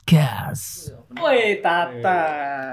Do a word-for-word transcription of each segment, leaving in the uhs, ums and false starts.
Podcast. Woi Tata.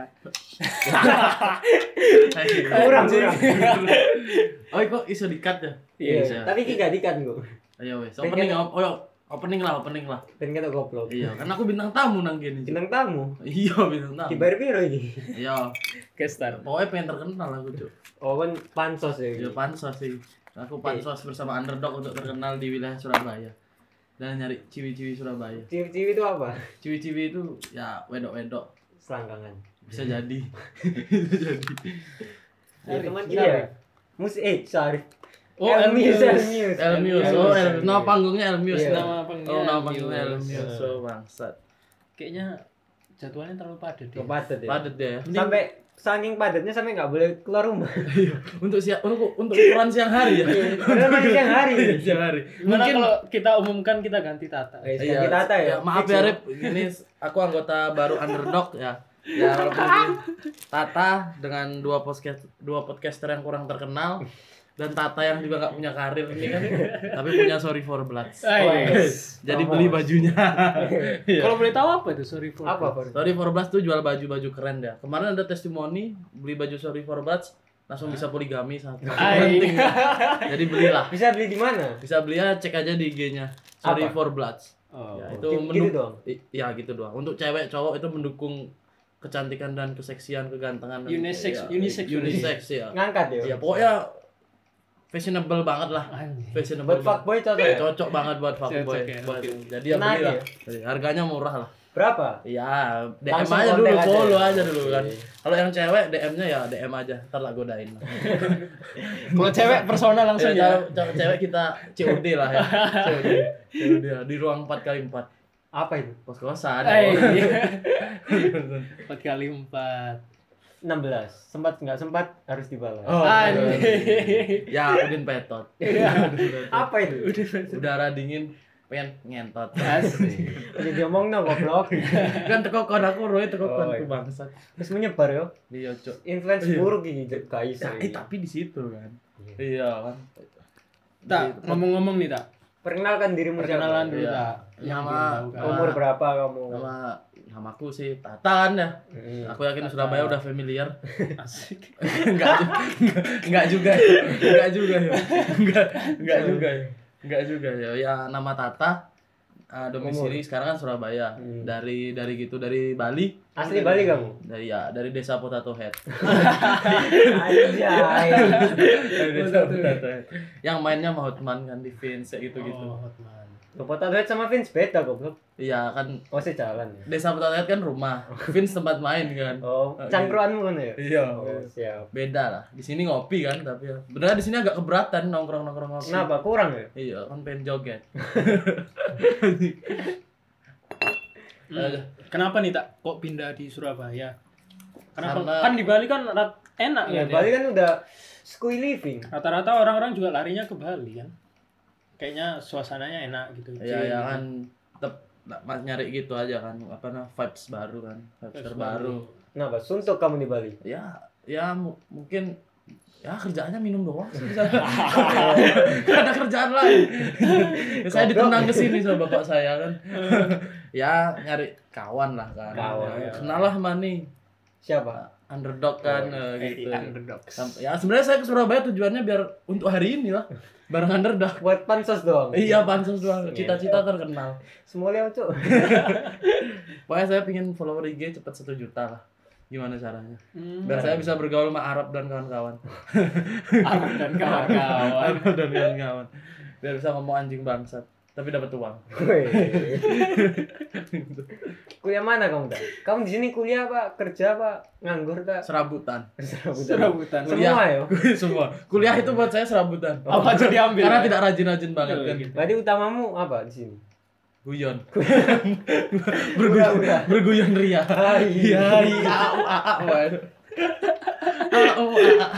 Kurang kurang. Oh, kok iso di-cut ya? Iya, tapi iki gak dikan kok. Ayo wes, opening oh, oh, opening lah, opening lah. Ben kata goblok. Iya, kan aku bintang tamu nang kene. Bintang tamu. Iya, bintang tamu. Dibayar piro iki? Iya. Gestar. Pokoknya pengen terkenal aku, Cuk. Oh kan pansos ya. Iya, pansos sih. Aku pansos bersama Underdog untuk terkenal di wilayah Surabaya. Dan nyari ciwi-ciwi Surabaya. Ciwi-ciwi itu apa? Ciwi-ciwi itu ya wedok-wedok. Selangkangan. Bisa jadi. Bisa jadi. Ya teman kita ya. Musik eh sorry. Oh, Elmius, Elmius. Elmius. Elmius. Oh, El- nama panggungnya Elmius. Iya. Nama panggungnya Oh, nama Elmius. panggungnya Elmius. Iya. So, bangsat. Kayaknya jadwalnya terlalu padat ya. Padat ya. Padet ya. Sampai saking padatnya sampai nggak boleh keluar rumah. Iya, untuk siang untuk untuk ukuran siang hari ya. Padahal masih siang hari. Siang hari. Gimana kalau kita umumkan kita ganti Tata? Eh, sekarang kita Tata ya. Maaf Fix ya Rip, ini aku anggota baru Underdog ya. Ya walaupun ini Tata dengan dua podcast dua podcaster yang kurang terkenal dan Tata yang juga nggak punya karir ini kan, tapi punya Sorry for Bloods. Ah, yes. Jadi Promo. beli bajunya. Iya. Kalau boleh tahu apa itu sorry for Apa, Por? Sorry for Bloods tuh jual baju-baju keren ya. Kemarin ada testimoni beli baju Sorry for Bloods langsung bisa poligami satu. Ay. Penting. Jadi belilah. Bisa beli di mana? Bisa belinya cek aja di I G-nya. Sorry Apa? for Bloods. Oh. Ya, itu Gitu- menduk- gitu doang? I- ya gitu doang. Untuk cewek cowok itu mendukung kecantikan dan keseksian, kegantengan dan- Unisex, ya, unisex. unisex ya. Ngangkat ya. Ya pokoknya fashionable banget lah. Anjing. Fashionable. Buat banget. fuckboy cocok ya? Cocok banget buat fuckboy. Cocok ya, Buat- oke. Jadi ya Menarik belilah. ya? Jadi harganya murah lah. Berapa? Ya, D M Langsung aja kontak dulu, aja. follow aja dulu kan. Oke. Kalau yang cewek D M-nya ya D M aja, ntar lah godain. Kalau cewek personal langsung Ya, ya. cewek- cewek cewek kita C O D lah ya. C O D. C O D ya, di ruang empat kali empat. Apa itu? Kos-kosan. Eh, empat kali empat. enam belas. Sempat nggak sempat harus dibalas. Oh, Anjing. ya Udin Petot. Apa itu? Udara dingin pengen ngentot. Asli. Udah diomong no goblok. Kan teko kon aku roe teko kon Oh, ku iya. bangsat. Terus menyebar yo. Iya, Cuk. Influence Iya. buruk ini guys. Nah, eh tapi di situ kan. Iya kan. Tak, ngomong-ngomong nih, Tak. Perkenalkan dirimu Perkenalan siapa? dulu, Iya. Tak. Yang Nama- belum tahu kan. Umur berapa kamu? Nama namaku sih Tata kan ya. Hmm. Aku yakin Surabaya udah familiar. Asik. Enggak juga. Enggak juga. ya. Enggak juga ya. Enggak enggak juga ya. Enggak juga ya. Ya nama Tata. Uh, domisili sekarang kan Surabaya. Hmm. Dari dari gitu dari Bali. Asli Bali kamu? Dari ya dari desa Potato Head. Anjay. Dari desa Potato Head. Yang mainnya sama Hotman kan di Vince kayak gitu-gitu. Oh, Hotman. Potato Head sama Vince beda goblok. Iya kan Oh, saya jalan ya. desa Potato Head kan rumah. Vince tempat main kan. Oh, cangkruanmu kan ya? Iya. Oh, siap. Beda lah. Di sini ngopi kan tapi ya. Beneran di sini agak keberatan nongkrong-nongkrong ngopi. Kenapa? Kurang ya? Iya, kan pengen joget. Hmm. Kenapa nih, Tak? Kok pindah di Surabaya? Kenapa? Karena- Kan di Bali kan rat- enak Ya, kan. Bali ya? kan udah school living. Rata-rata orang-orang juga larinya ke Bali kan. Kayaknya suasananya enak gitu. Iya, chill ya gitu. kan tetep nak- mas nyari gitu aja kan. Apa namanya? Vibes baru kan. Vibes Vibes terbaru. Kenapa? Suntuk kamu di Bali. Ya, ya mu- mungkin ya kerjaannya minum doang sih. Gak ada kerjaan lain. Ya, saya ditendang ke sini sama bapak saya kan. Ya nyari kawan lah kan. Kawan, Ya, ya. kenal lah Mani. Siapa? Underdog kan Oh, eh, gitu. Underdog. Sampai- ya sebenarnya saya ke Surabaya tujuannya biar untuk hari ini lah. Bareng Underdog. Buat pansos doang. Iya, pansos doang. Cita-cita terkenal. Semua lewat, Cuk. Pokoknya saya pengen follower I G cepat satu juta lah. Gimana caranya? Hmm. Biar saya bisa bergaul sama Arab dan kawan-kawan. Arab dan kawan-kawan. Arab dan kawan-kawan. Biar bisa ngomong anjing bangsat, tapi dapat uang. Weh. Kuliah mana kamu, Tak? Kamu di sini kuliah apa? Kerja apa? Nganggur, Tak? Serabutan. Serabutan. Semua ya? Semua. Kuliah itu buat saya serabutan. Apa aja diambil? Karena tidak rajin-rajin banget Betul, kan. gitu. Berarti utamamu apa di sini? Guyon. Udah, Berguyon. udah. Berguyon ria. Hai. Iya, iya, au a a wae. Au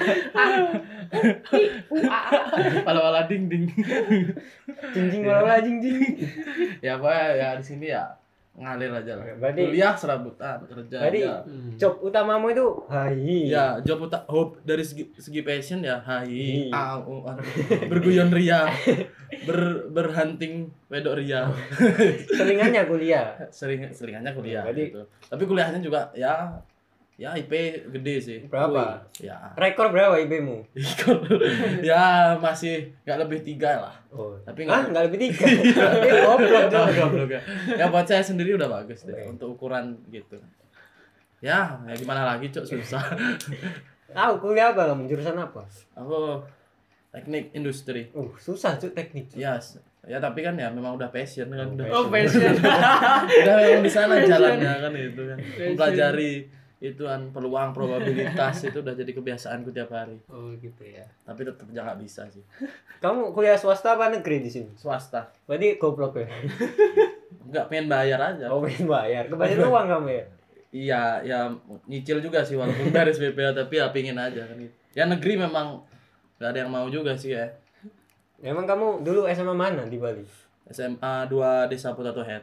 a a. Wala-wala ding ding. Jinjing wala jinjing. Ya apa ya di sini ya ngalir aja lah. Berarti- Kuliah serabutan, kerja Berarti aja. Hmm. job utamamu itu hai. Ya, job uta hope dari segi, segi passion ya hai Hi. au au. Berguyon ria. ber berhunting wedok ria. Selingannya kuliah. Sering selingannya kuliah Berarti- gitu. Tapi kuliahnya juga ya ya I P gede sih. Berapa? Ya. Rekor berapa I P-mu? Ya masih nggak lebih tiga lah. Oh. Tapi Ah, nggak enggak lebih tiga. Eh, goblok Goblok, dong. goblok ya. Ya buat saya sendiri udah bagus deh Oke. untuk ukuran gitu. Ya, ya gimana lagi cok, susah. Tahu kuliah apa kamu? Jurusan apa? Aku teknik industri. Uh, susah tuh teknik. Ya, s- ya tapi kan ya memang udah passion kan udah. Oh, passion. Udah memang di sana jalannya kan itu kan. Passion. Mempelajari itu kan peluang probabilitas itu udah jadi kebiasaanku tiap hari. Oh, gitu ya. Tapi tetap jangan bisa sih. Kamu kuliah swasta apa negeri di sini? Swasta. Berarti goblok ya. Enggak pengen bayar aja. Oh, pengen bayar. Kebanyakan uang kamu ya. Iya, ya nyicil juga sih walaupun beres B P A tapi ya pingin aja kan gitu. Ya negeri memang nggak ada yang mau juga sih ya. Emang kamu dulu S M A mana di Bali? S M A dua Desa Potato Head.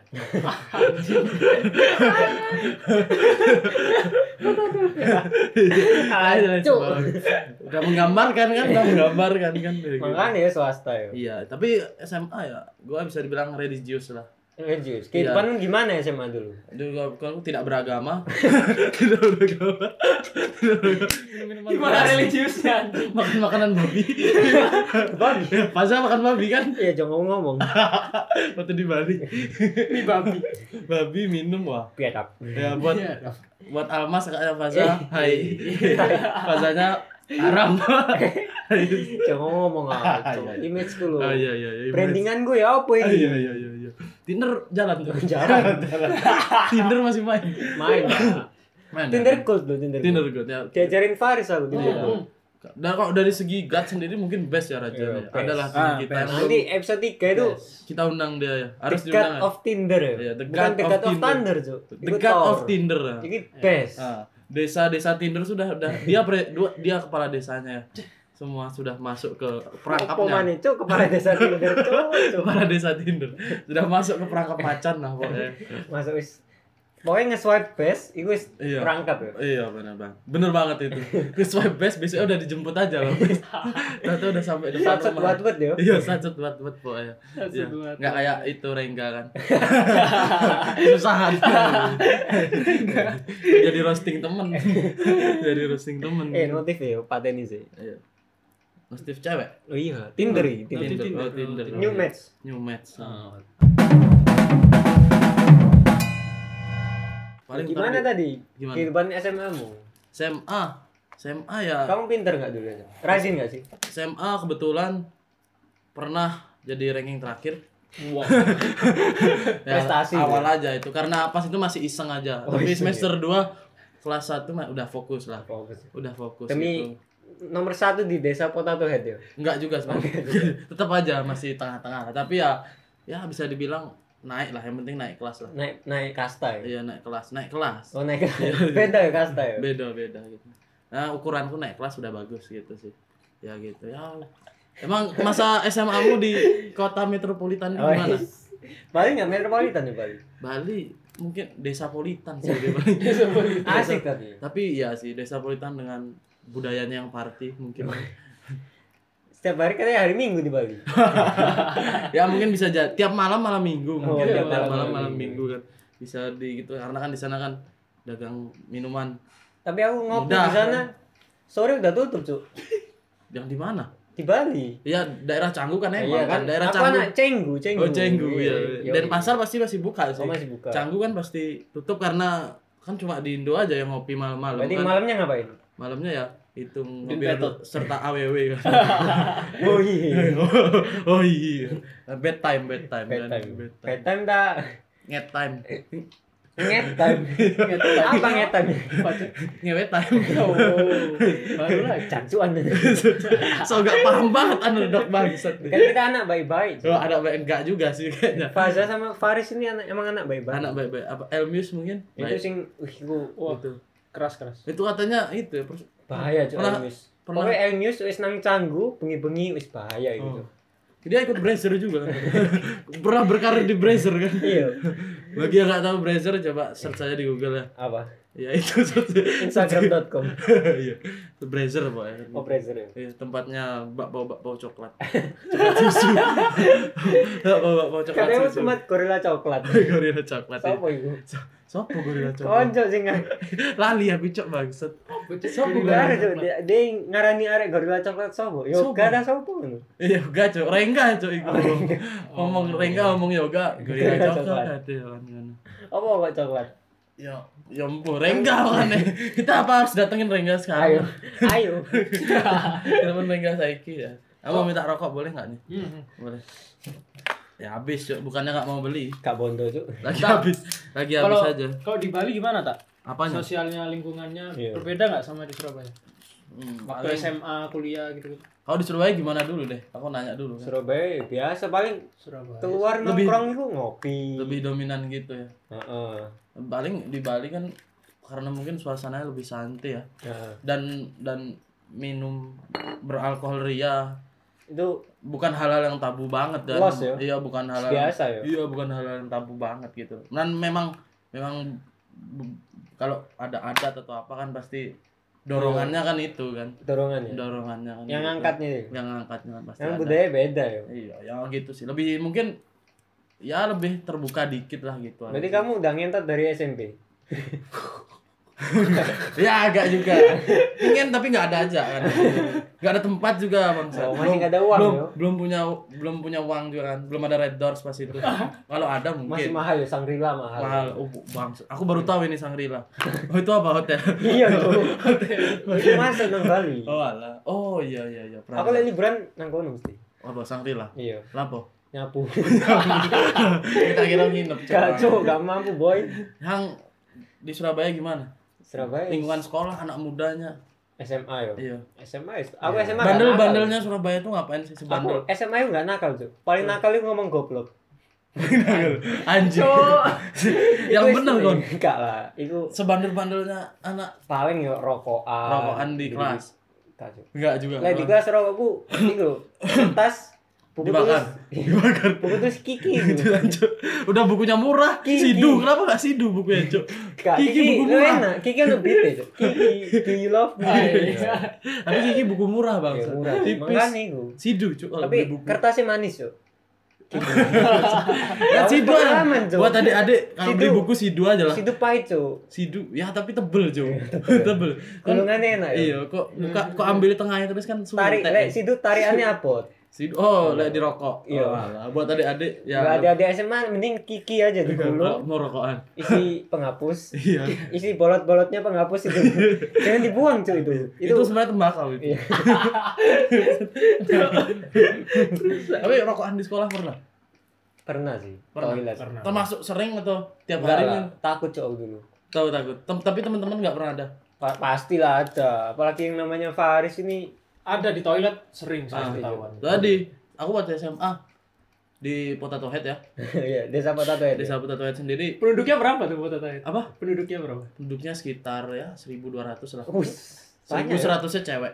Hancur. Udah menggambarkan kan, udah menggambarkan kan. Makanya ya swasta ya. Iya, tapi S M A ya, gua bisa dibilang religius lah. Religius. Kehidupan gimana S M A dulu? Dulu kalau tidak beragama, tidak beragama, tidak beragama. Minum-minuman Gimana keras, religiusnya anjing? makan makanan babi. Babi. Pasal makan babi kan? Iya, jangan ngomong. Waktu di Bali. Ini babi. Babi minum wah. Piadap. Ya buat Iya. buat Almas kakaknya Faza, hai. Fazanya haram. Jangan ngomong apa. Iya, iya. Image dulu. Oh iya iya iya. Brandingan gue ya apa Oh, ini? iya iya iya iya. Tinder jalan tuh. Jalan. Tinder masih main. Main. Pak. Main. Tinder gold loh, Tinder. Tinder gold. good ya. Diajarin Faris aku Tinder. Hmm. gold. Dan kalau dari segi gut sendiri mungkin best ya Raja. Iya, ya. best. Adalah Ah, kita best. yang Nanti episode tiga itu kita undang dia ya. Harus The God diundang. Ya. of Tinder ya. Iya, The Bukan God The of God of Tinder. Thunder, Cuk. The God of Tinder. ya. Ini best. Ah, desa-desa Tinder sudah udah dia pre, dua, dia kepala desanya ya. Semua sudah masuk ke Apa perangkapnya. mana Cuk kepala desa Tinder, Cuk. Cuk. Kepala desa Tinder sudah masuk ke perangkap macan lah pokoknya. Masuk wis. Pokoknya nge-swipe best, itu wis Iya. perangkap ya. Iya benar bang, bener banget itu. Ke swipe best besoknya udah dijemput aja bang. Tahu udah sampai depan Sat-sat rumah. buat-buat ya. Iya sacet buat buat pokoknya. Sacet Iya. buat-buat. Nggak kayak itu Rengga kan. Susahan. Jadi roasting temen. Jadi roasting temen. Eh, notif ya, pateni sih. Iya. Roasting cewek. Oh iya, Tinder ya, Tinder. Notif Tinder. Tinder. Oh, Tinder. New match. New match. Oh. Paling Gimana tadi- tadi? Gimana? Kehidupan S M A-mu. S M A. S M A ya. Kamu pinter nggak dulu? Rajin nggak sih? S M A kebetulan pernah jadi ranking terakhir. Wow. Ya, Prestasi awal ya? aja itu karena pas itu masih iseng aja. Oh, Tapi iseng semester dua kelas satu mah udah fokus lah. Fokus. Udah fokus Demi gitu. nomor satu di desa Potato Head ya. Enggak juga sebenarnya. Tetap aja masih tengah-tengah. Tapi ya ya bisa dibilang naik lah, yang penting naik kelas lah. Naik naik kasta ya. Iya, naik kelas, naik kelas. Oh naik beda ya kasta ya. Beda-beda gitu. Nah, ukuranku naik kelas udah bagus gitu sih. Ya gitu. Ya. Emang masa S M A-mu di kota metropolitan itu Oh, gimana? is. Bali nggak metropolitan ya Bali. Bali mungkin desa politan sih di Bali. Asik tapi. Tapi iya sih desa politan dengan budayanya yang party mungkin. Setiap hari katanya hari Minggu di Bali. Ya mungkin bisa jadi tiap malam malam minggu Oh, mungkin tiap tiap malam malam malam malam minggu. minggu kan bisa di gitu karena kan di sana kan dagang minuman. Tapi aku ngopi Udah. di sana sore udah tutup Cuk. Yang di mana? Di Bali. Ya daerah Canggu kan emang Iya kan daerah Apa Canggu. anak Cenggu, Cenggu. Oh Canggu Iya, ya. iya. Dan pasar pasti masih buka sih. Oh, masih buka. Canggu kan pasti tutup karena kan cuma di Indo aja yang ngopi malam-malam Berarti kan. malamnya ngapain? Malamnya ya itu ngopi Pinpeto. serta A W W kan. Oh iya. Oh iya. Bedtime, bedtime. kan. Bedtime. Bedtime. Bedtime tak Nget time. nget time. Apa nget time? Ngewet time. Oh, baru lah. Cancuan. So gak paham banget underdog bangsat. Kan kita anak baik-baik. Oh, ada baik enggak juga sih kayaknya. Faza sama Faris ini anak emang anak baik-baik. Anak baik-baik. Apa Elmius mungkin? Itu Baik. sing wih iku Wah, Itu. keras keras. Itu katanya itu ya, pers- bahaya Cuk Pernah- Elmius. pernah- Pokoknya Elmius wis nang Canggu, bengi-bengi wis bahaya gitu. Oh. Dia ikut Brazer juga kan. Pernah berkarir di Brazer kan. Iya. Bagi yang nggak tahu Brazer coba search aja di Google ya. Apa? Ya itu instagram dot com. Iya. Brazer pokoknya. Oh, Brazer ya. Iya, tempatnya bakpao-bakpao coklat. Coklat susu. Bakpao-bakpao coklat Katanya susu. cuma gorila coklat. Gorila coklat. ya. Sopo iku? Sopo gorila coklat? Konco sing ngar- Lali aku cok bangsat. Sopo Enggak ada Cuk. dia dia ngarani arek gorila coklat sopo? Yo Sopo? gak ada sopo ngono. Iya, enggak cok. Rengga cok iku. Ngomong Rengga ngomong yoga, gorila Gorila coklat coklat. ada kan ngono. Apa kok coklat? Ya, ya ampun, Rengga kan. Kita apa harus datengin Rengga Ayo. sekarang? Ayo. Temen Rengga saiki ya. Aku mau minta rokok boleh enggak nih? Hmm. Boleh. Ya habis cok, bukannya enggak mau beli. Kak Bondo, Cuk. Lagi Tak. habis. Lagi habis Kalau aja. kalau di Bali gimana tak? Apanya? Sosialnya, lingkungannya Iya. berbeda nggak sama di Surabaya? Hmm, Waktu paling- S M A, kuliah gitu. Kalau di Surabaya gimana dulu deh? Aku nanya dulu kan. Surabaya biasa paling Surabaya. keluar Lebih- nongkrong itu ngopi. Lebih dominan gitu ya. Heeh. Paling di Bali kan karena mungkin suasananya lebih santai ya. Heeh. Dan dan minum beralkohol ria Itu bukan hal-hal yang tabu banget kan. Los ya? Iya, bukan hal biasa ya. Iya, bukan hal-hal yang tabu banget gitu. Dan memang memang bu- kalau ada adat atau apa kan pasti dorongannya kan itu kan. Dorongannya. Dorongannya kan. Yang gitu. ngangkatnya. Yang ngangkatnya kan pasti Yang ada. budaya beda ya. Iya, ya gitu sih. Lebih mungkin ya lebih terbuka dikit lah gitu. Berarti aja. kamu udah ngentot dari S M P. Ya agak juga. Ingin tapi nggak ada aja kan. Nggak ada tempat juga bang. Oh, masih nggak ada uang, belum, yo. belum punya belum punya uang juga kan. Belum ada Red Doors pas itu. Kalau ada Masih mungkin. mahal ya, Sangrila mahal. Mahal. Oh bang, aku baru tahu ini Sangrila. Oh itu apa hotel? Iya tuh. Itu masuk nang Bali. Oh alah. Oh iya iya iya. Pernah Aku ada. lagi liburan nang kono mesti. Apa Sangrila? Iya, Lapo? nyapu. Kita kira nginep. Gak Cuk, gak mampu boy. Yang di Surabaya gimana? Surabaya. Lingkungan sekolah anak mudanya. S M A yo. Iya. S M A. is- Aku S M A. nggak Bandel-bandelnya Surabaya tuh ngapain sih nakal. sebandel? Aku S M A itu gak nakal tuh. Paling nakal itu ngomong goblok. Anjir. Yang Itu bener istilah- kon. Enggak lah, itu Sebandel-bandelnya anak paling yo rokokan. rokokan di gitu-gitu. kelas. Enggak, Cuk. Enggak juga. Lah di kelas rokokku itu kertas buku Dibakar. tulis dibakar buku tulis Kiki gitu. Cuk. Udah bukunya murah. Kiki. Sidu, kenapa enggak Sidu bukunya, Cuk? Kak, Kiki Kiki, buku lu murah. enak. Kiki kan lebih deh. Kiki, do you love me? Iya. Tapi Kiki buku murah, Bang. Ya, murah. Tipis. Makanya itu. Sidu, Cuk, kalau Tapi beli buku. kertasnya manis, Cuk. Ya, Sidu aja. pengalaman, Cuk. Buat adik-adik kalau Sidu. beli buku Sidu aja lah. Situ pahit, Cuk. Sidu, ya tapi tebel, Cuk. Tebel. Kan Gulungannya enak ya. iya, kok buka kok ambil di tengahnya terus kan sulit. Tarik, lek situ tariannya abot. Sidu. Oh, lek di rokok. Iya. Oh, alah. Buat adik-adik ya. Enggak ada ada S M A mending Kiki aja digulung. mau rokokan. Isi penghapus. Iya. Isi bolot-bolotnya penghapus itu. Jangan dibuang, Cuk itu. Itu, sebenarnya tembakau itu. Iya. Tapi rokokan di sekolah pernah? Pernah sih. Pernah. Toilet. Pernah. Termasuk sering atau tiap Enggak hari lah, nih? takut Cuk aku dulu. Tahu takut. Tem- tapi teman-teman nggak pernah ada. Pa- pastilah ada. Apalagi yang namanya Faris ini. Ada di toilet sering saya Ah, ketahuan. Tadi aku waktu S M A di Potato Head ya. Iya, desa Potato ya. Desa Potato Head sendiri Penduduknya berapa tuh Kota Toilet? apa? Penduduknya berapa? Penduduknya sekitar ya seribu dua ratus lah. Us. seribu Banyak. Ya? seratusnya cewek.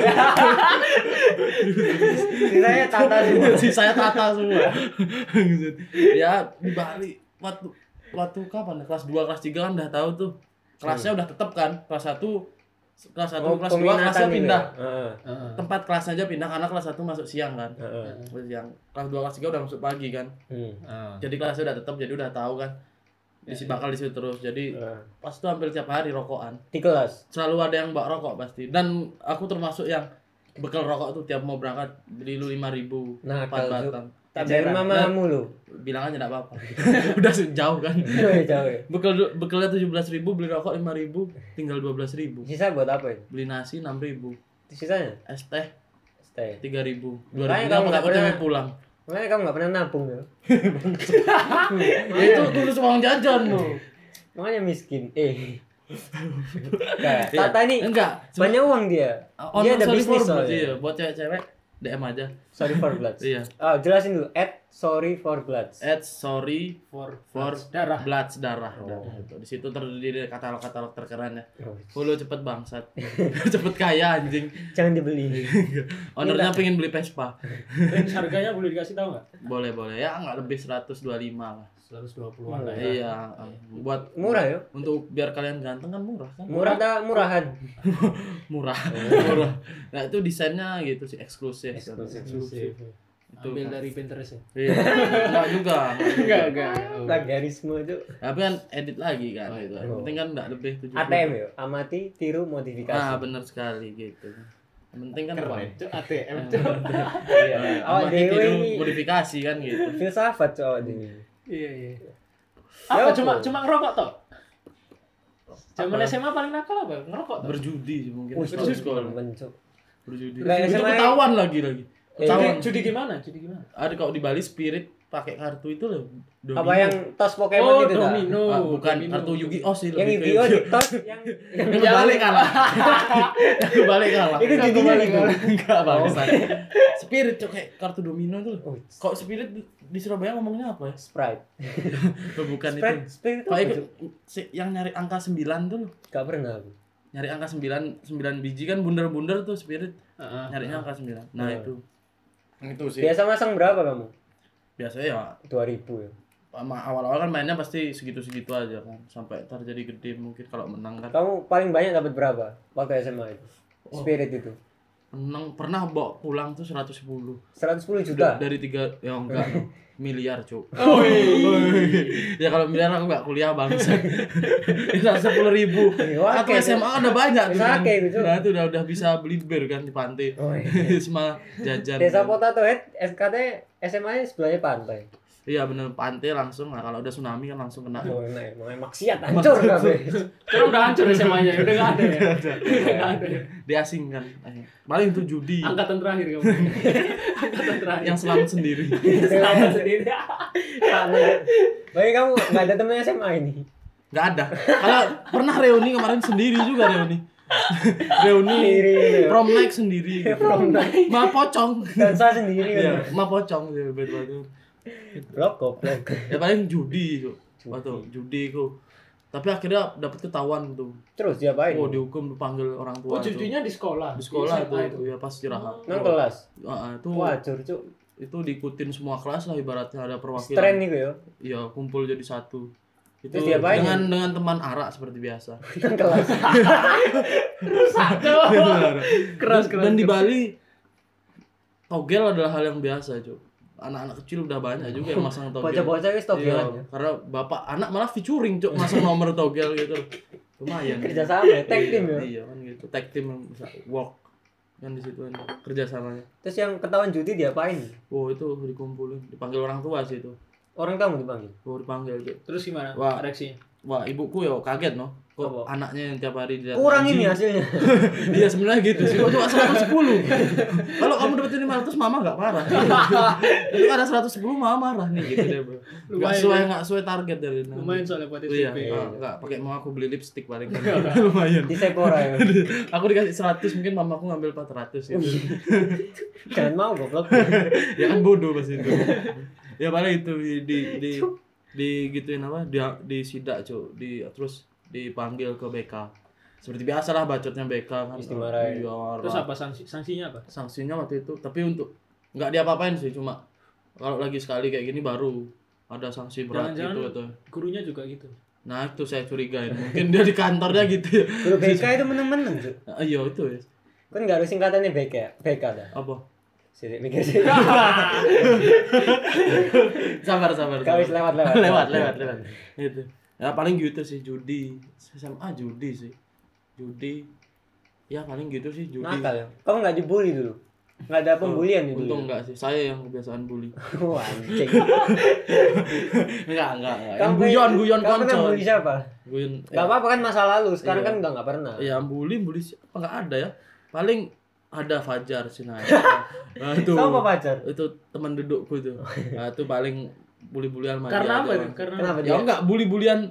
Sisanya tata semua. Sisanya tata semua. Ya di Bali waktu waktu kapan? ya? Kelas dua, kelas tiga kan udah tahu tuh. Kelasnya udah tetap kan. Kelas satu kelas satu, Oh, kelas dua kelasnya peminatan gitu pindah. ya? Heeh. Heeh. Tempat kelasnya aja pindah karena kelas satu masuk siang kan. Heeh. Terus yang kelas dua, kelas tiga udah masuk pagi kan. Hmm. Heeh. Jadi kelasnya udah tetap jadi udah tahu kan. Di si bakal di situ terus. Jadi Heeh. pas itu hampir tiap hari rokokan. Di kelas. Selalu ada yang bawa rokok pasti. Dan aku termasuk yang bekal rokok tuh tiap mau berangkat beli lu lima ribu Nakal, empat Cuk. batang. Tak dari mamamu lu. Bilang aja enggak apa-apa. Udah jauh kan. Jauh jauh. Ya. Bekal bekalnya tujuh belas ribu, beli rokok lima ribu, tinggal dua belas ribu. Sisa buat apa ya? Beli nasi enam ribu, Sisanya? es teh Stay. tiga ribu. dua Makanya ribu kamu apa nggak aku pernah- tempe pulang. Makanya kamu nggak pernah nabung ya? Ya, itu tulus uang jajan lu. Makanya miskin. Eh. Kayak Iya. Tata ini Enggak, cuma- banyak uang dia. On Dia ada sorry bisnis for, soalnya. iya, buat cewek-cewek D M aja. Sorry for Bloods. Iya. Oh, jelasin dulu. At sorry for Bloods. At sorry For for darah. Bloods darah. Oh. Darah itu. Di situ terdiri katalog-katalog terkeren ya. Oh, Follow cepet bangsat. Cepet kaya anjing. jangan dibeli. Ownernya pengen beli Vespa. Range harganya boleh dikasih tahu nggak? Boleh boleh ya nggak lebih seratus dua puluh lima lah. seratus dua puluhan lah ya. Iya. Buat Murah ya? untuk biar kalian ganteng kan murah kan? Murah dah murahan. Murah. Murah. Nah itu desainnya gitu sih eksklusif. Eksklusif. Eksklusif. Itu Ambil kan. dari Pinterest ya? Iya. Enggak juga. Enggak, enggak. Plagiarisme itu. Tapi kan edit lagi kan gitu. Yang Oh. penting kan enggak lebih tujuh A T M ya, amati, tiru, modifikasi. Ah benar sekali gitu. Yang penting kan uang. Keren, Cuk. A T M, Cuk. Iya. Awak Amati, dewe tiru, ini modifikasi kan gitu. filsafat cok awak dewe. Iya, iya. Ya Apa apa? cuma cuma ngerokok toh? Zaman Apa? S M A paling nakal apa? Ngerokok toh? Berjudi sih mungkin. Wih, Berjudi. cok, bencok. Berjudi. Lah, Itu S M A ketahuan lagi lagi. Eh, Judi, Ketahuan. judi gimana? Judi gimana? Ada kalau di Bali Spirit pakai kartu itu loh. Domino. Apa yang tos Pokemon Oh, itu dah? domino. Ah, bukan Domino. kartu Yu-Gi-Oh sih Yang lebih Yu-Gi-Oh ke- di tos yang yang Yang kebalik kalah. Yang kebalik kalah. Itu judinya itu. Enggak bangsat. Spirit cok kayak kartu domino tuh. Oh, Kok Spirit di, di Surabaya ngomongnya apa ya? Sprite. Oh, bukan Sprite, itu. Sprite itu Kalau apa, ikut Cuk? si- yang nyari angka sembilan tuh loh. Gak pernah aku. Nyari angka sembilan, sembilan biji kan bundar-bundar tuh Spirit. Heeh. Nyarinya angka sembilan. Nah, Oh. itu. Itu sih. Biasa masang berapa kamu? Biasanya ya dua ribu ya. sama awal-awal kan mainnya pasti segitu-segitu aja kan sampai terjadi gede mungkin kalau menang kan. Kamu paling banyak dapat berapa waktu S M A itu? Oh. Spirit itu. Menang pernah bawa pulang tuh seratus sepuluh. seratus sepuluh juta. Dari tiga ya enggak miliar cuk. Oh, Ya kalau miliar aku nggak kuliah bangsa. Itu sepuluh ribu. Wah, Atau oke, S M A udah banyak tuh. Bisa kan. oke, gitu. Nah itu udah udah bisa beli bir kan di pantai. Oh, iya. Semua jajan. Desa Potato Head S K T S M A-nya sebelahnya pantai. Iya bener pantai langsung. Nah kalau udah tsunami kan langsung kena. Oh, nah, emang maksiat hancur kabeh. Sekarang udah hancur S M A-nya, udah enggak ada ya. Udah enggak ada. Diasingkan. Paling itu judi. Angkatan terakhir kamu. Angkatan terakhir. Yang selamat sendiri. selamat sendiri. Karena bagi kamu enggak ada temen S M A ini. Nggak ada. Kalau pernah reuni kemarin sendiri juga reuni. Reuni Sendiri, ya. prom night sendiri. Gitu. Prom night. Ma pocong. Dansa sendiri Iya, kan. ma pocong sih betul-betul. Blok goblok. Ya paling judi tuh. Judi. Waktu judi ku. Tapi akhirnya dapat ketahuan tuh. Terus diapain? Oh, dihukum dipanggil orang tua. Oh, tuh. judinya di sekolah. Di sekolah S M A tuh, ya pas istirahat. Nang kelas. Heeh, itu Wajur, Cuk. itu diikutin semua kelas lah ibaratnya ada perwakilan. Tren niku ya. Iya, kumpul jadi satu. Itu Terus diapain dengan ya? dengan teman arak seperti biasa. Nang kelas. Satu. Keras keras. Dan di Bali togel adalah hal yang biasa, Cuk. Anak-anak kecil udah banyak juga yang masang togel. Bocah-bocah wis togelan Iya, ya. karena bapak anak malah featuring, Cuk, masang nomor togel gitu. Lumayan. Kerja sama ya, tag Iya, team ya. Iya, kan gitu. Tag team yang bisa work kan di situ kan kerja samanya. Terus yang ketahuan judi diapain? Oh, itu dikumpulin, dipanggil orang tua sih itu. Orang kamu dipanggil. Oh, dipanggil, Cuk. Terus gimana? Wah. Reaksinya? Wah, ibuku ya kaget no. Kok Apa? anaknya yang tiap hari dilihat Kurang anjing. ini hasilnya. Iya sebenarnya gitu sih. Kok cuma seratus sepuluh. Kalau kamu dapetin lima ratus mama enggak marah. Itu ada seratus sepuluh mama marah nih gitu deh, Bro. Enggak Lumayan sesuai ya. enggak sesuai target dari Lumayan soalnya buat S Iya, P. ah, enggak pakai mau aku beli lipstick paling kan. Lumayan. Di Sephora ya. Aku dikasih seratus mungkin mamaku ngambil empat ratus gitu. Jangan mau goblok. Ya kan bodoh pas itu. Ya paling itu di di di, di gituin apa? Di di sidak, Cuk. Di terus dipanggil ke B K. Seperti biasa lah bacotnya B K kan. Terus dimarahin. Iya, Terus apa sanksi sanksinya apa? sanksinya waktu itu tapi untuk nggak diapa-apain sih cuma kalau lagi sekali kayak gini baru ada sanksi berat Jangan-jangan gitu atau gurunya juga gitu. nah itu saya curigain mungkin dia di kantornya gitu ya. Guru B K itu meneng-meneng, Cuk. Ah, iya itu ya Kan enggak harus singkatannya B K ya? B K dah. apa Sini mikir sih. sabar sabar, Kau wis sabar. lewat-lewat. lewat lewat lewat itu ya paling gitu sih judi S M A judi sih judi ya paling gitu sih judi Nakal ya. Kamu enggak dibully dulu. Enggak ada pembulian Oh, dulu. untung enggak sih saya yang kebiasaan bully Wah, anjing. enggak enggak enggak Kamu yang guyon guyon kamu pernah konco bully siapa? guyon Enggak apa-apa kan masa lalu. Sekarang Iya. kan enggak enggak pernah. ya bully bully siapa nggak ada ya paling ada Fajar sih nah, nah itu Kamu apa pacar? itu teman dudukku tuh nah itu paling bully bulian Karena apa itu? Karena Kenapa ya dia? enggak bully bulian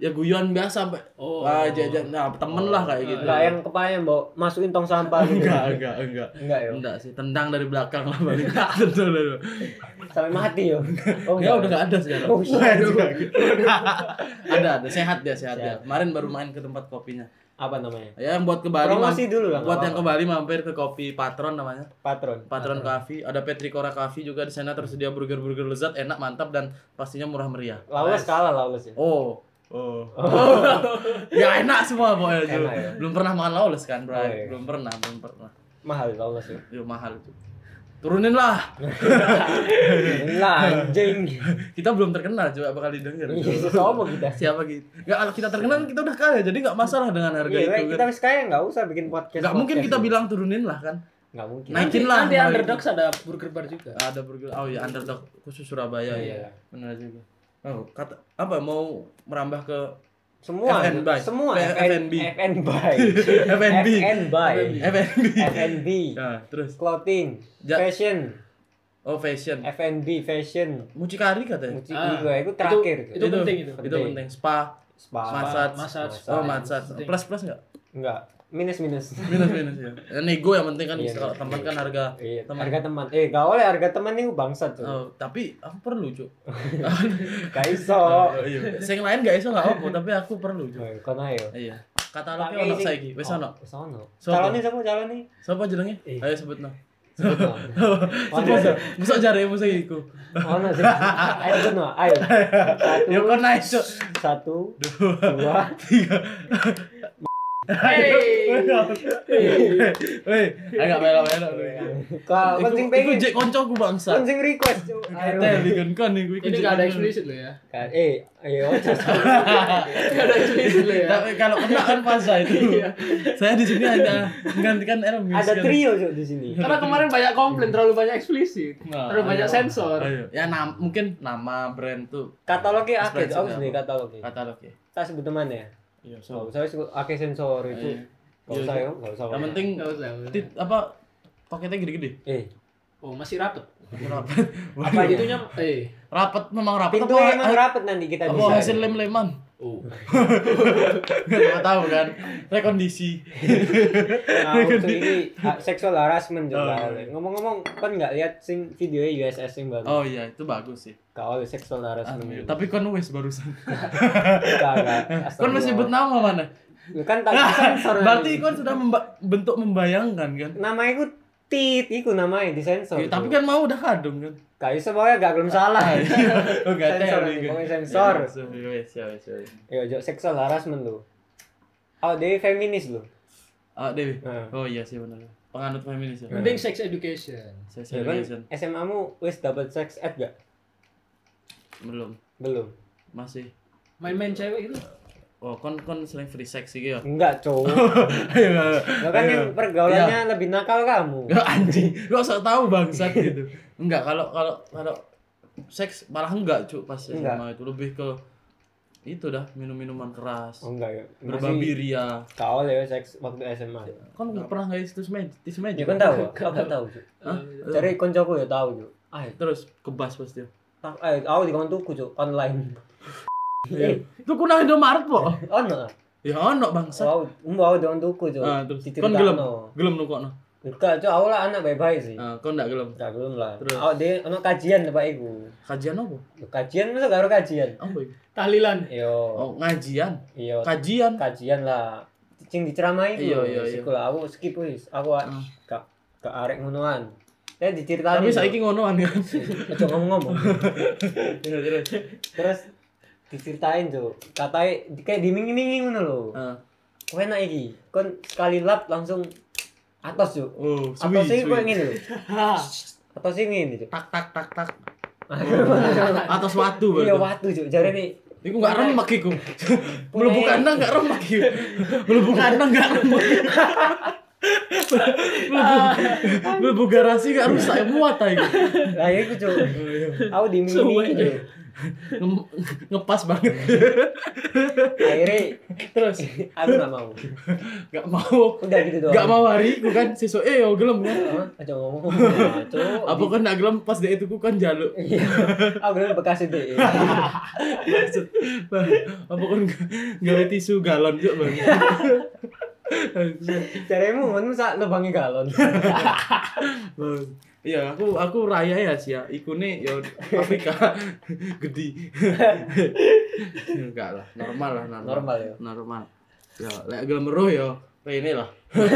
ya guyon biasa sampai Oh. ah jajan nah temen lah kayak gitu. Enggak yang kepalanya mbok masukin tong sampah gitu. enggak enggak enggak Enggak ya. enggak sih tendang dari belakang lah balik tendang dari Sampai mati yo. Oh, ya udah nggak ada sekarang. Oh, shit. ada ada sehat dia sehat dia Sehat. kemarin baru main ke tempat kopinya Apa namanya? ya yang buat ke Bali Promosi mam- dulu lah, buat nggak yang ke Bali mampir ke kopi Patron namanya Patron. Patron Coffee ada Petricora Coffee juga di sana tersedia burger-burger lezat enak mantap dan pastinya murah meriah Lawless kalah Lawless ya. oh oh ya enak semua pokoknya Ju. Enak ya? belum pernah makan lawless kan bro Oh, iya. belum pernah belum pernah Mahal Lawless ya. Yo mahal itu turunin lah Lah anjing. kita belum terkenal coba bakal didengar Iya, sopo kita. siapa gitu nggak kalau kita terkenal kita udah kaya jadi nggak masalah dengan harga Iya, itu kita kan wis kaya enggak usah bikin podcast. nggak mungkin kita bilang turunin lah kan enggak mungkin. naikin lah Nanti mulai Underdogs ada burger bar juga. itu. ada burger oh ya underdog khusus Surabaya Iya. ya benar juga oh kata apa mau merambah ke Semua, F and B. semua F and B. F and B. F and B F and B. F and B F and B. nah terus Clothing, Ja- fashion, oh fashion F and B, fashion. mucikari katanya Musik Ah, juga itu terakhir itu- itu. itu penting itu. itu penting spa Spa. massage massage. oh massage Penting. plus plus nggak Enggak, minus minus. minus minus ya Ya, nego yang penting kan Iya, kalau iya. teman kan harga Iya, teman harga teman. Eh, gak oleh harga teman itu bangsat tuh. oh, tapi aku perlu cuk Gak iso. oh, iya sing lain gak iso gak apa tapi aku perlu cuk Oh, kono ayo. iya katalognya ono saiki wis ono Wis ono. Sopo? Calonnya siapa calonnya? sapa jenenge Eh. ayo sebutno Sebut no. Sopo sih? Musa jare musa iku. Ono sih. Ayo sebut no. Ayo. Satu. Ya kok naik cuk. Satu. Dua. Tiga. Hey. Weh, agak melok-melok. Kau Iku kencing iku pengen. jek koncoku bangsa. Kencing request. Cuk. Ayo. Teh bikin kon iku iku. Ini jek nggak ada konco. eksplisit loh ya. Kan, eh, ayo. Nggak ada eksplisit loh ya. Tapi kalau kena kan fasa itu. Iya. Saya di sini hanya menggantikan Ermis. Ada kan. trio Cuk di sini. Karena kemarin banyak komplain terlalu banyak eksplisit, Nah, terlalu banyak ayo. sensor. Ayo. Ya nam mungkin nama brand tuh Katalognya akeh, Ekspresi aku apa? sendiri katalognya. katalog ya. Tak sebut teman ya. Iya, Oh, so. saya sebut akeh sensor itu. Iya. Gak Iya, usah iya. ya, gak usah. Yang penting Nggak usah. nggak usah. tit apa paketnya gede-gede. Eh, Oh masih rapet. Rapat. Apa itunya? Eh. Rapat memang rapat pintunya apa? emang rapet nanti kita Apa bisa. hasil lem-leman? Oh. Gak tahu kan. Rekondisi. Nah, untuk ini ha- seksual harassment Oh, juga. iya. Ngomong-ngomong, kan nggak lihat sing videonya U S S yang baru. Oh iya, itu bagus sih. Kau oleh seksual harassment. Ah, tapi kon wes barusan. Enggak, enggak. Kon masih sebut nama mana? Lu kan tak disensor. Berarti kon sudah memba- bentuk membayangkan kan? nama itu tit, iku namanya disensor. Ya, tapi kan mau udah kadung kan. Gak bisa pokoknya gak belum salah. Oh gak Sensor tahu nanti, pokoknya sensor. Ya wes, ya wes, ya wes. Ya, jo seksual harassment lu. Oh, dia feminis lu. Ah, Dewi. Nah. Oh iya sih benar. Penganut feminis ya. Mending sex education. Sex Ya kan education. S M A-mu wis dapat sex ed gak? Belum. Belum. Masih. Main-main cewek itu. Oh, kon kon sering free sex sih ya. Enggak, cowok. Ayo. Lo kan yang pergaulannya lebih nakal kamu. Ya anjing, lu usah tahu bangsat gitu. Enggak, kalau kalau kalau seks malah enggak, Cuk, pas S M A Enggak. itu lebih ke itu dah minum-minuman keras. Oh enggak ya. Berbabi ria. Kau ya seks waktu S M A. Kan enggak pernah guys tisu meja, tisu meja. Ya kan tahu, aku tahu. Cuk. Hah? Cari koncoku ya tahu, Cuk. Ayo, Terus kebas pasti. tak ayo aku di tuku, Cuk, online. Itu kuna Indomaret, Po. Ono. Ya ono bangsat. Wow, mbak aku di tuku, Cuk. Ah, terus Diceritakno. kon gelem. Gelem nukokno. Enggak, Cuk, aku lah anak baik-baik sih. Ah, kon enggak gelem. Enggak belum lah. Terus? Aku dia ono kajian Pak iku. Kajian apa? Kajian masa gak ada kajian? Apa itu? Tahlilan. Yo. Oh, ngajian. Iya. Kajian. Kajian lah. Cing diceramai itu. Iya, iya, iya. Sekolah aku skip wis. Aku Ah. gak gak arek ngonoan. Ya diceritain. Tapi saiki ngonoan kan. aja ngomong-ngomong. Terus terus. Terus diceritain tuh. Katanya kayak dimingin-mingin ngono lho. Ah. Kowe enak iki. Kon sekali lap langsung atas yuk. Oh, suwi. Atas sih suwi. kowe ngene lho. Atas sih ngene Cuk. Tak tak tak tak. Atas watu Iya berarti. watu Cuk. Jare nih Iku enggak remek iku. Mlebu kandang enggak remek iku. Mlebu kandang enggak remek. Mlebu garasi enggak rusak muat ta iku. lah iku Cuk. Aku Suwe, dimingin-mingin Cuk. Cuk. Nge- ngepas banget. Akhirnya Terus aku nggak mau. Gak mau. Udah gitu doang. Gak mau hari iku kan sesuk eh yo gelem kan. Hah? Aja ngomong. Nah, Cuk. Apa kan gak gelem pas dek itu ku kan jaluk. Iya. Aku bilang bekas itu. Maksud, Bang, apa kan gawe tisu galon juk bang. Caremu ngono sak lubangi galon. Bang. Iya, aku aku raya ya sih ya. Ikune ya Afrika gede. Enggak lah, normal lah, normal. Normal ya. Normal. Ya, lek gelem meruh ya ini lah.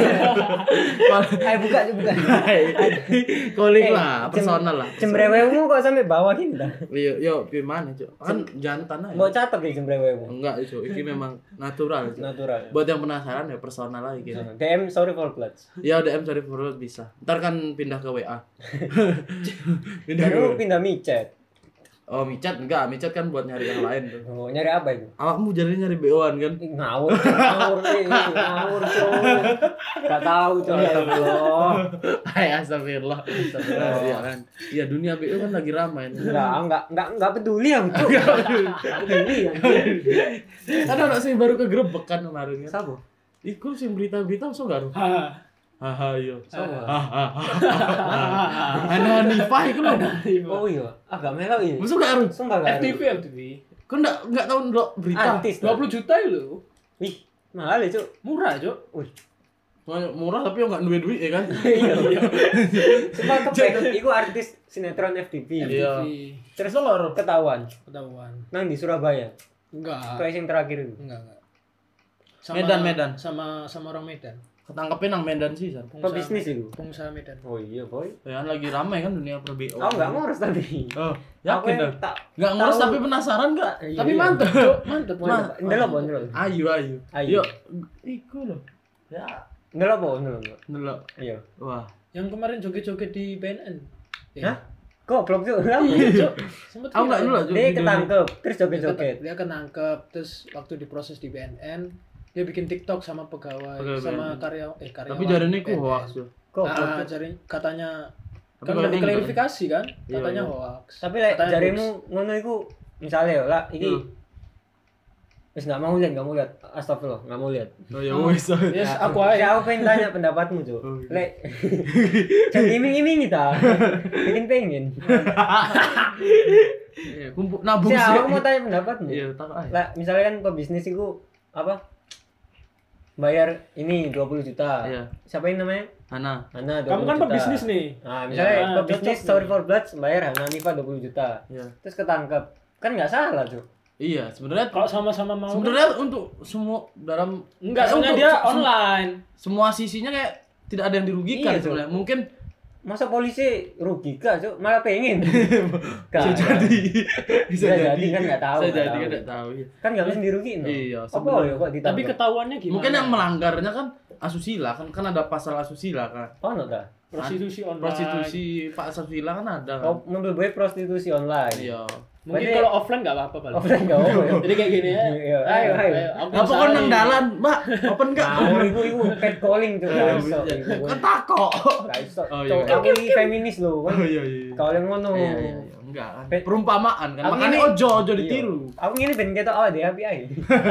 Ayo buka aja buka. Calling Eh, lah, cem- personal lah. Cembrewemu kok sampai bawah gini dah. Yo yo gimana, Cuk? Kan jantan aja. Mau catok ya cembrewemu. Enggak, Cuk. Ini memang natural, Cuk. Natural. Buat yang penasaran ya personal lagi gitu. D M sorry for bloods. Ya D M sorry for world bisa. Ntar kan pindah ke W A. Pindah ke Baru W A. pindah micet. Oh, micat enggak, micat kan buat nyari yang lain tuh. Oh, nyari apa itu? Awakmu jadi nyari B O-an kan? Ih, ngawur, ngawur, eh, ngawur, Cuk. Gak tahu, Cuk. Ya Allah. Hai astagfirullah. Astagfirullah. Iya kan. Iya dunia B O kan lagi ramai. Enggak, enggak, enggak, enggak peduli aku, Cuk. Enggak peduli ya. Kan orang sih baru kegerebek kan kemarin kan. Siapa? Iku sih berita-berita masuk enggak? ha. Haha iya. Siapa? Hahaha. Ana Nifah iku lho. Oh iya, agak melok ini. Masuk enggak Arun? Sumpah gak F T V ada. F T V. Kau enggak enggak tahu ndelok berita. Artis dua puluh juta lho. Wih, mahal ya, Cuk. Murah, Cuk. Wih. Murah tapi enggak duit-duit ya kan? Iya, iya. Sumpah kepek, iku artis sinetron F T V. Iya. F T V. Terus Lor ketahuan ketahuan. nang di Surabaya. Enggak. Kayak yang terakhir itu. Enggak, enggak. Medan, Medan. Sama sama orang Medan. Ketangkepin nang Medan sih, San. Pebisnis itu. Pengusaha Medan. Oh iya, boy. Ya kan lagi ramai kan dunia per B O. Aku enggak ngurus tadi. Oh, Aku yakin yang dah. tak Enggak ngurus tahu. tapi penasaran enggak? Iya, Tapi iya. mantep, Cuk. Mantep, Nah, mantep. ndelok apa ndelok? Ayo, ayo. Ayo. Yuk, iku loh. Ya, Ndelok apa ndelok? ndelok. Iya. Wah. Yang kemarin joget-joget di B N N. Hah? Goblok tuh. Iya, Cuk. Sempet Aku enggak viral. ndelok, Cuk. Dia ketangkep, terus joget-joget. Dia ketangkep, terus waktu diproses di B N N, dia bikin TikTok sama pegawai, Pegawai sama B N N. karya eh karyawan. Tapi jarene ku B N N. hoax yo. Goblok. Ah, Cuk. jari katanya Tapi kan kalau udah enggak. diklarifikasi kan, Iya, katanya iya. hoax. Tapi lek Katanya jarimu ngono iku misale yo lah iki Hmm. wis enggak mau lihat, enggak mau lihat. Astagfirullah, enggak mau lihat. Oh ya wis. Yes, Ya, aku aja. ya, aku pengen tanya pendapatmu, Cuk. Oh, iya. Lek jangan iming-iming kita. Bikin pengen. Iya, kumpul nabung Si, sih. aku mau tanya pendapatmu. Iya, tak aja. Lah, misalnya kan pebisnis itu apa? Bayar ini dua puluh juta. Iya. Siapa yang namanya? Hana. Hana dua Kamu puluh kan juta. pebisnis nih. Nah, misalnya Ya, pebisnis cocok Sorry nih. for Bloods bayar Hana Nifa dua puluh juta. Iya. Terus ketangkep. Kan nggak salah, Cuk. Iya, sebenarnya Kalau sama-sama mau sebenarnya untuk semua dalam enggak, eh, soalnya untuk dia se- online. semua sisinya kayak tidak ada yang dirugikan Iya, Cuk. sebenarnya. Mungkin Masa polisi rugi gak, Cuk? Malah pengen. Gak, bisa gak. jadi. Bisa jadi kan nggak tahu, Bisa nggak jadi tahu. kan enggak tahu. Iya. Kan nggak bisa dirugiin. no? Iya, Apa sebenarnya. ya kok ditangkep? Tapi ketahuannya gimana? Mungkin yang melanggarnya kan asusila kan kan ada pasal asusila kan. Oh, no, dah. prostitusi online. Prostitusi Pak asusila kan ada kan. Oh, mobil boy prostitusi online. Iya. Mungkin Berarti- kalau offline enggak apa-apa, Bal. Offline nggak apa ya? Jadi kayak gini ya. Iya, ayo, ayo. aku Apa usahain. kon nang dalan, Mbak? Open enggak? Nah, iku iku catcalling tuh, Iya, gak iso. iya. iku. Kan takok. Gak iso. Oh, iya. Cuk, aku ini feminis loh, kan. Oh iya iya. Kalau yang ngono. Iya iya iya. Enggak kan. Pe- Perumpamaan kan. Aku Makanya ini- ojo ojo Iya. ditiru. Aku ngene ben ketok awake dhewe api ae.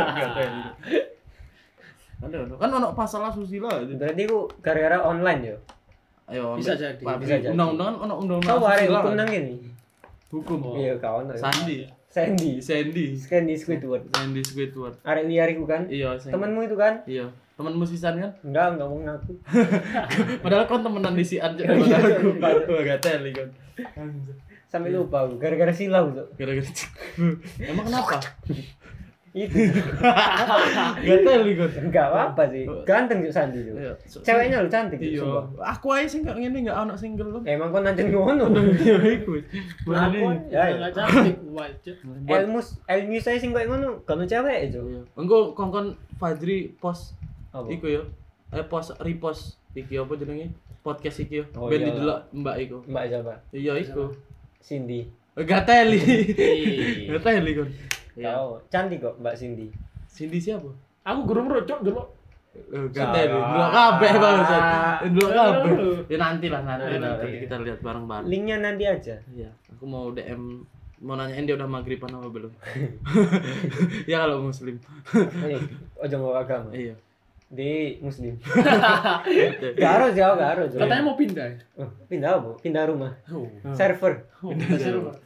Ada ada. Kan ono pasal asusila itu. Berarti ku gara-gara online yo. Ayo. Bisa ambil- jadi, Pak, bisa jadi. Undang-undang kan ono undang-undang Kau hari asusila hukum kan. nang kene. Hukum. Iya, kawan. Sandi. Sandy. Sandy. Sandy Squidward. Sandy Squidward. Arek liar iku kan? Iya, Sandy. Temenmu itu kan? Iya. Temenmu sisan kan? Enggak, enggak mau ngaku. Padahal kon temenan di si An cek Iya, daripada aku. sumpah. Wah, gak teli kon. Sampai lupa aku gara-gara silau tuh. Gara-gara emang kenapa? Itu. Gak teli kon. Enggak apa-apa sih. Ganteng juga Sandy tuh. Iya. so- Ceweknya lu cantik Iya. sumpah. Aku aja sih gak ngene gak ono single lu. Emang kau nanti ngono. Iya iku. Aku Ya, ya. enggak cantik, wajib. Buat Elmus, Elmus saya sing koyo ngono, kono cewek itu. engko kongkon Fajri post Apa? iku yo. Eh post repost iki apa jenenge? Podcast iki yo. Oh, Ben iya. didelok Mbak iku. Mbak siapa? Iya iku. Cindy. Gak teli. Ih. Gak teli kon. Iya. Tahu, cantik kok Mbak Cindy. Cindy siapa? Aku gurung rocok dulu. Eh, Gak teli. Delok kabeh bangsat. Delok kabeh. Aduh. Ya nanti lah nanti Nanti, lah nanti. nanti kita lihat bareng-bareng. Linknya nanti aja. Iya, aku mau D M mau nanyain dia udah maghriban apa belum. Ya kalau muslim. Ini ojo nggawa agama. Iya. Di muslim. Gak harus jauh, gak harus. Katanya mau pindah. Ya? Oh, pindah apa? Pindah rumah. Oh. Server. Pindah server.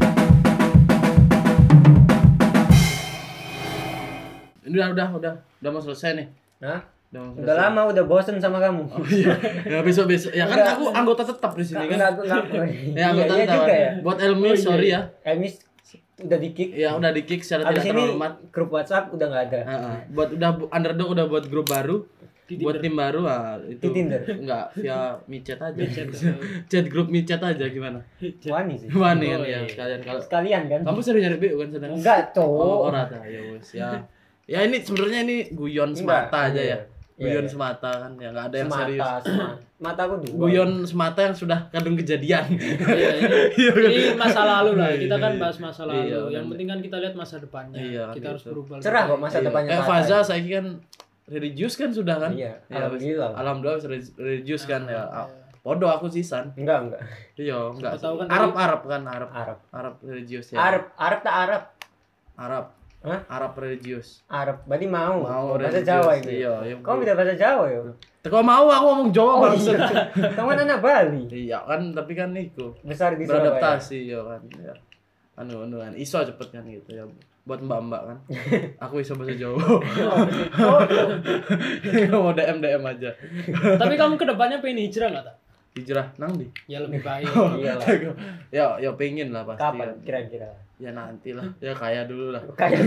Ini udah udah udah udah mau selesai nih. Hah? Udah, mau Udah selesai. lama udah bosen sama kamu. Oh, iya. Ya besok besok. Ya kan Udah. aku anggota tetap di sini kan. Enggak, enggak. Ya anggota Iya tetap. juga ya. Buat Elmi sorry ya. Elmis udah di-kick. Ya udah di kick secara Habis tidak ini terhormat. grup WhatsApp udah enggak ada. Heeh. Buat udah bu- underdog udah buat grup baru. Di Buat Tinder. tim baru ah itu. Di Tinder. Enggak, via micet aja. Micet. Chat grup micet aja gimana? Wani sih. Wani kan Oh, ya iya. sekalian kalau Sekalian kan? kamu sering nyari B U kan sedang? Enggak, Oh, cowok. ora ta. Ya wes ya. Ya ini sebenarnya ini guyon Enggak, semata aja iya. ya. Iya, Guyon iya. semata kan ya enggak ada yang Semata, serius. semata. Mataku dua. Guyon semata yang sudah kadung kejadian. Iya, ini, ini masa lalu lah. Kita kan Iya. bahas masa lalu. Iya, yang benar. penting kan kita lihat masa depannya. Iya, kita gitu. harus berubah. Cerah kok masa Iya. depannya. Eh Tata. Faza saya kan religius kan sudah kan? Iya, Ya, alhamdulillah. Alhamdulillah wis religius kan ya. Iya. Podo aku sisan. Enggak, enggak. Iya, enggak. tahu kan Arab dari- Arab kan Arab. Arab. Arab religius ya. Arab, Arab tak Arab. Arab. Hah? Arab religius. Arab. Berarti mau. Mau bahasa religius. Jawa itu. Iya, iya. Kau bisa bahasa Jawa ya? Teko mau aku ngomong Jawa Oh, bangsa. iya. Kamu kan anak Bali. Iya kan, tapi kan itu Besar di Surabaya. beradaptasi ya kan. Ya. Anu anu kan iso cepet kan gitu ya. Buat mbak-mbak kan. Aku iso bahasa Jawa. Oh, Mau D M D M aja. Tapi kamu kedepannya pengen hijrah nggak tak? Hijrah nang di. Ya lebih baik. iya lah. Ya ya pengen lah pasti. Kapan kan. kira-kira? Ya nanti lah. Ya kaya dulu lah. Kayak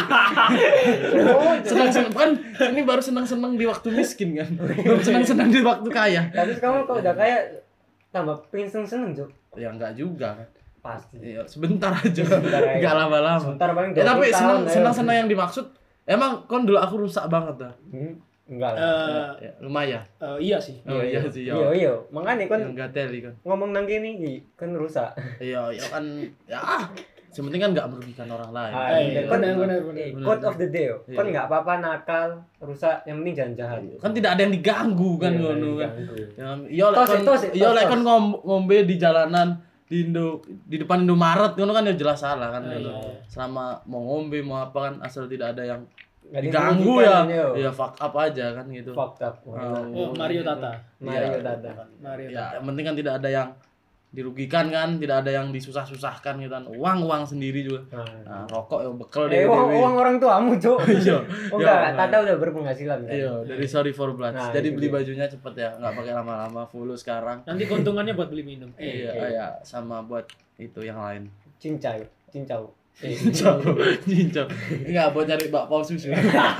Senang-senang kan ini baru senang-senang di waktu miskin kan. Belum senang-senang di waktu kaya. Tapi kamu kalau udah kayak tambah pengen seneng-seneng, Cuk. Ya enggak juga kan. Pasti. Ya, sebentar aja. Sebentar aja. Enggak lama-lama. Sebentar paling Ya, tapi dua puluh senang tahun, ayo. senang senang yang dimaksud emang kon dulu aku rusak banget dah. Hmm, enggak lah. Eh, Ya, lumayan. eh, iya sih. Oh iya sih ya. Iya, iya. Makanya kan Yang gateli kan. ngomong nang kene iki kan rusak. Iya, ya kan ya. Sementing kan enggak merugikan orang lain. Ah, iya, iya. Kon benar, benar, benar. eh, quote of the day. yo. Iya. Kon enggak apa-apa nakal, rusak, yang penting jangan jahat. Kan tidak ada yang diganggu kan Iya, ngono kan. diganggu. Ya, iya lek Tos, kon tos, iya tos, lek tos. kon ngom- ngombe di jalanan di Indo di depan Indomaret ngono kan ya jelas salah kan. Ah, ngono. iya. Selama mau ngombe mau apa kan asal tidak ada yang Nggak diganggu dirugikan, ya. yo. Ya fuck up aja kan gitu. Fucked up. Oh. Oh, Mario Tata. Mario Iya. Tata. Mario Ya, Tata. yang penting kan tidak ada yang dirugikan kan, tidak ada yang disusah-susahkan gitu kan. Uang-uang sendiri juga. Nah. Nah, rokok ya bekel Eh, uang, uang orang tuamu, Cuk. Iya. Oh Ya, enggak, Tata udah berpenghasilan kan. Iya, dari Sorry for Blood. Nah, Jadi itu beli dia. bajunya cepet ya, nggak pakai lama-lama, full sekarang. Nanti keuntungannya buat beli minum. Eh, Iya, iya. iya, sama buat itu yang lain. Cincau, cincau. Eh, Cincau, cincau. Enggak buat cari bakpao susu.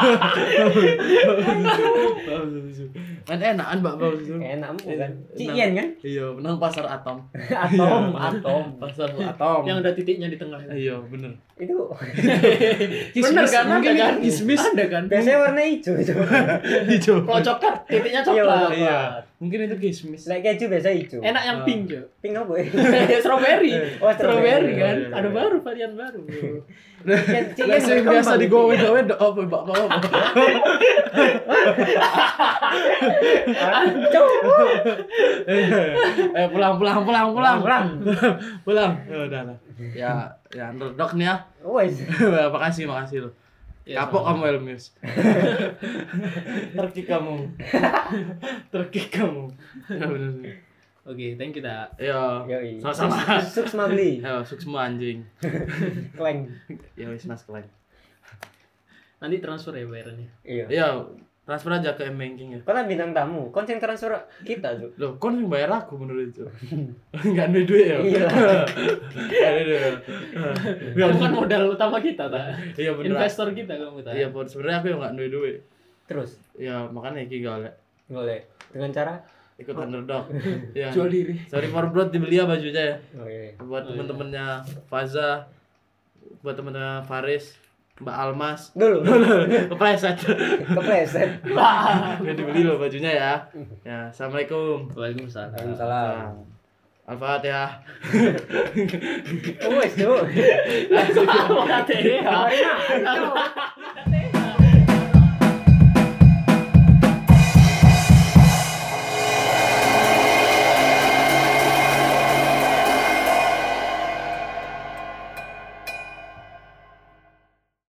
Bakpao susu. Kan enakan bakpao susu. Enak kan? Menang- Cian kan? Iya, menang pasar Atom. Atom, Iya. atom. Pasar Atom. yang ada titiknya di tengah. Iya, bener. Itu Bener kan? Mungkin Ada kan? kismis Ada kan? biasanya warna hijau itu. hijau. Kalau coklat, titiknya Iya, coklat. Iya. Mungkin itu kismis. Like keju biasa hijau. Enak yang Ah. pink, Jo. Pink apa ya? Strawberry. Oh, strawberry. kan. Iya, iya, Ada iya. baru varian baru. Cian, cian Lah sing berkembang biasa itu. digowe wedok apa bakpao apa? Ancok. Eh pulang pulang pulang pulang Pulang. pulang. Ya udah lah. Ya ya underdog nih ya. Wes. Makasih makasih lo. Ya, Kapok sama. kamu Elmius. Terkik kamu. Terkik kamu. Ya benar. Oke, thank you, Tak. Ya. Yoi. Sama-sama. Suksma beli. Ya sukses anjing. Kleng. Ya wis mas kalian. Nanti transfer ya bayarannya. Iya. Ya transfer aja ke M-Banking ya. Karena bintang tamu, konsen transfer kita tuh. Loh, kon yang bayar aku menurut itu. Enggak ada duit ya? Iya. Enggak ada duit. Itu kan modal utama kita, Tak. Iya bener. Investor kita kamu, Tak. Iya, Bon. Sebenarnya aku yang enggak duit duit. Terus Ya, makanya iki golek boleh dengan cara ikut underdog. Ya. Jual diri. Sorry for blood dibeli ya bajunya ya. oh, iya. Buat Oh, iya. temen-temennya Faza, buat temen-temennya Faris, Mbak Almas. Dulu Kepleset. kepleset. Udah dibeli loh bajunya ya. Ya, assalamualaikum. Waalaikumsalam. Waalaikumsalam. Al-Fatihah. Oh, wes tuh. Al-Fatihah. Kemarin ah.